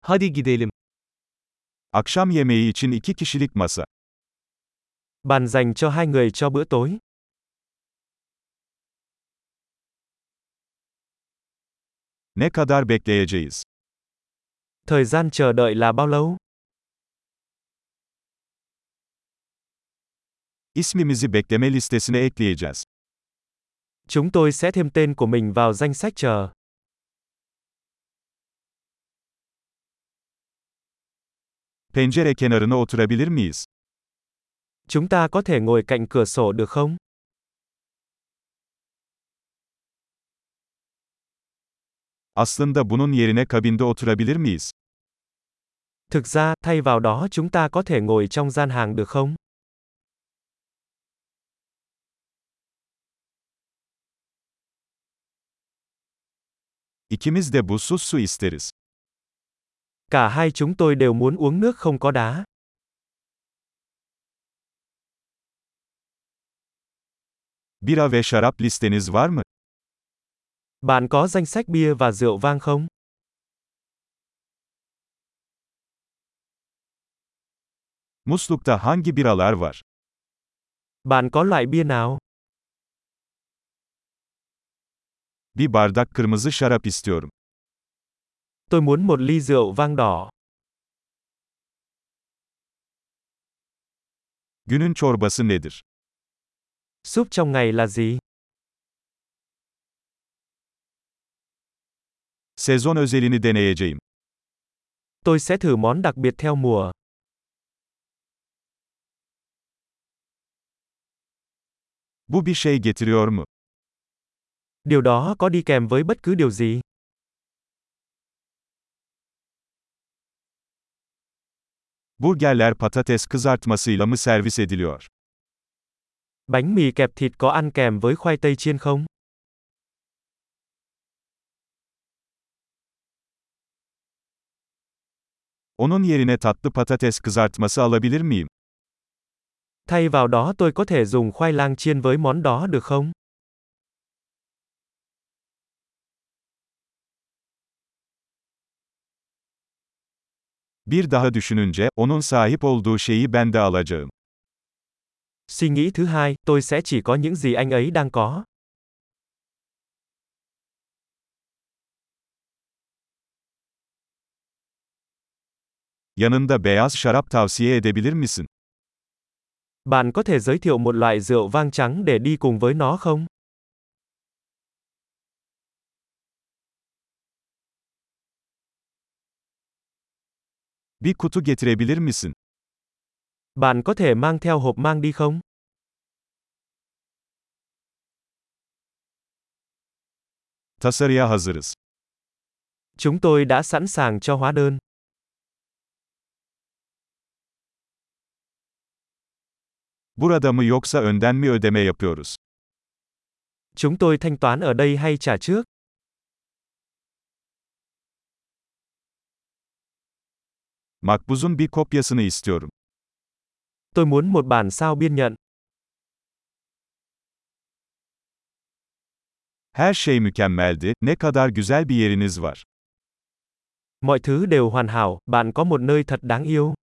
Hadi gidelim. Akşam yemeği için 2 kişilik masa. Bàn dành cho hai người cho bữa tối. Ne kadar bekleyeceğiz? Thời gian chờ đợi là bao lâu? İsmimizi bekleme listesine ekleyeceğiz. Chúng tôi sẽ thêm tên của mình vào danh sách chờ. Pencere kenarına oturabilir miyiz? Chúng ta có thể ngồi cạnh cửa sổ được không? Aslında bunun yerine kabinde oturabilir miyiz? Thực ra, thay vào đó chúng ta có thể ngồi trong gian hàng được không? İkimiz de buzsuz su isteriz. Cả hai chúng tôi đều muốn uống nước không có đá. Bira ve şarap listeniz var mı? Bạn có danh sách bia và rượu vang không? Muslukta hangi biralar var? Bạn có loại bia nào? Bir bardak kırmızı şarap istiyorum. Tôi muốn một ly rượu vang đỏ. Günün çorbası nedir? Súp trong ngày là gì? Sezon özelini deneyeceğim. Tôi sẽ thử món đặc biệt theo mùa. Bu bir şey getiriyor mu? Điều đó có đi kèm với bất cứ điều gì? Burgerler patates kızartmasıyla mı servis ediliyor? Bánh mì kẹp thịt có ăn kèm với khoai tây chiên không? Onun yerine tatlı patates kızartması alabilir miyim? Thay vào đó tôi có thể dùng khoai lang chiên với món đó được không? Bir daha düşününce, onun sahip olduğu şeyi ben de alacağım. Suy nghĩ thứ hai, tôi sẽ chỉ có những gì anh ấy đang có. Yanında beyaz şarap tavsiye edebilir misin? Bạn có thể giới thiệu một loại rượu vang trắng để đi cùng với nó không? Bir kutu getirebilir misin? Bạn có thể mang theo hộp mang đi không? Tasarıya hazırız. Chúng tôi đã sẵn sàng cho hóa đơn. Burada mı yoksa önden mi ödeme yapıyoruz? Chúng tôi thanh toán ở đây hay trả trước? Makbuzun bir kopyasını istiyorum. Tôi muốn một bản sao biên nhận. Her şey mükemmeldi, ne kadar güzel bir yeriniz var. Mọi thứ đều hoàn hảo, bạn có một nơi thật đáng yêu.